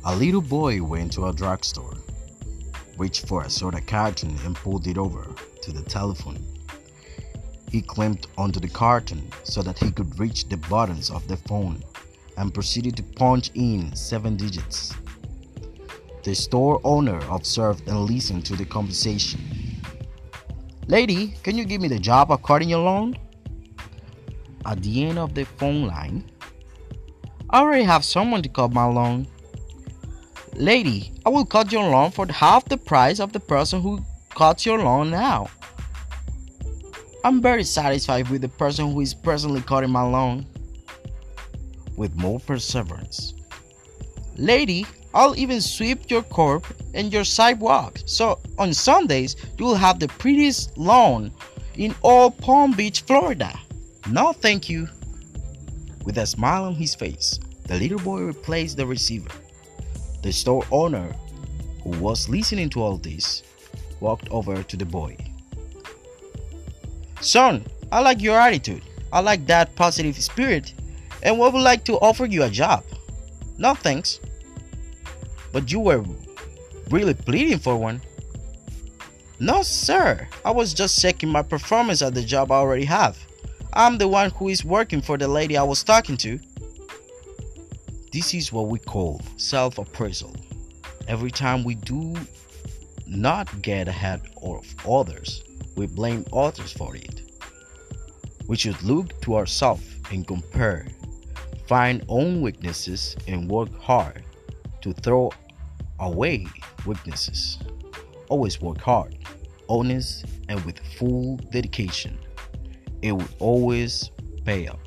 A little boy went to a drugstore, reached for a soda carton and pulled it over to the telephone. He climbed onto the carton so that he could reach the buttons of the phone and proceeded to punch in 7 digits. The store owner observed and listened to the conversation. "Lady, can you give me the job of cutting your lawn?" At the end of the phone line, "I already have someone to cut my lawn." "Lady, I will cut your lawn for half the price of the person who cuts your lawn now. I'm very satisfied with the person who is presently cutting my lawn." With more perseverance, "Lady, I'll even sweep your curb and your sidewalk, so on Sundays you'll have the prettiest lawn in all Palm Beach, Florida." "No, thank you." With a smile on his face, the little boy replaced the receiver. The store owner, who was listening to all this, walked over to the boy. "Son, I like your attitude. I like that positive spirit, and would like to offer you a job." "No, thanks." "But you were really pleading for one." "No, sir. I was just checking my performance at the job I already have. I'm the one who is working for the lady I was talking to." This is what we call self-appraisal. Every time we do not get ahead of others, we blame others for it. We should look to ourselves and compare, find own weaknesses and work hard to throw away weaknesses. Always work hard, honest, and with full dedication. It will always pay off.